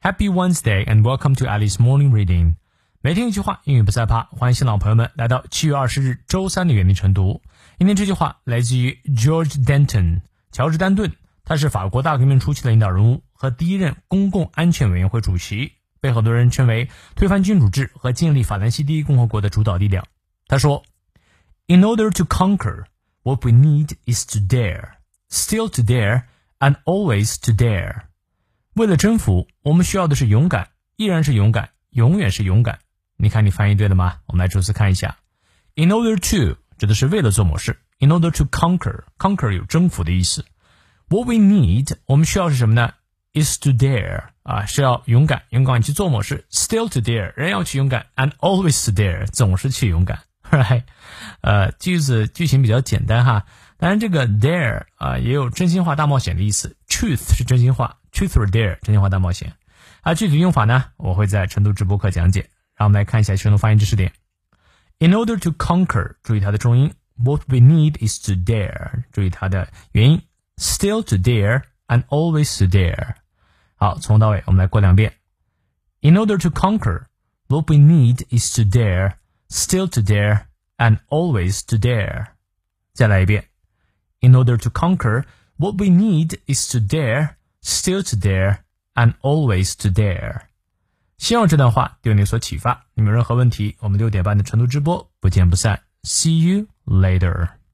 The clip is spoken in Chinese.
Happy Wednesday and welcome to Alice Morning Reading. 每天一句话，英语不害怕。欢迎新老朋友们来到7月20日周三的原力晨读。今天这句话来自于 George Denton， 乔治·丹顿，他是法国大革命初期的领导人物和第一任公共安全委员会主席，被很多人称为推翻君主制和建立法兰西第一共和国的主导力量。他说 In order to conquer, what we need is to dare, still to dare, and always to dare. 为了征服，我们需要的是勇敢，依然是勇敢，永远是勇敢。你看你翻译对了吗？我们来逐词看一下。In order to 指的是为了做某事。In order to conquer 有征服的意思。What we need 我们需要是什么呢？ Is to dare 是要勇敢去做某事。Still to dare 仍要去勇敢。And always to dare 总是去勇敢。Right？ 句型比较简单哈。当然这个 dare 也有真心话大冒险的意思。Truth 是真心话。Truth or dare 真心话大冒险。具体用法呢，我会在晨读直播课讲解。让我们来看一下晨读发音知识点。In order to conquer 注意它的重音。What we need is to dare 注意它的元音。Still to dare and always to dare。好，从头到尾我们来过两遍。In order to conquer, what we need is to dare, still to dare, and always to dare。再来一遍。In order to conquer, what we need is to dare, still to dare, and always to dare。希望这段话对你有所启发。你们有任何问题，我们6点半的晨读直播不见不散。See you later.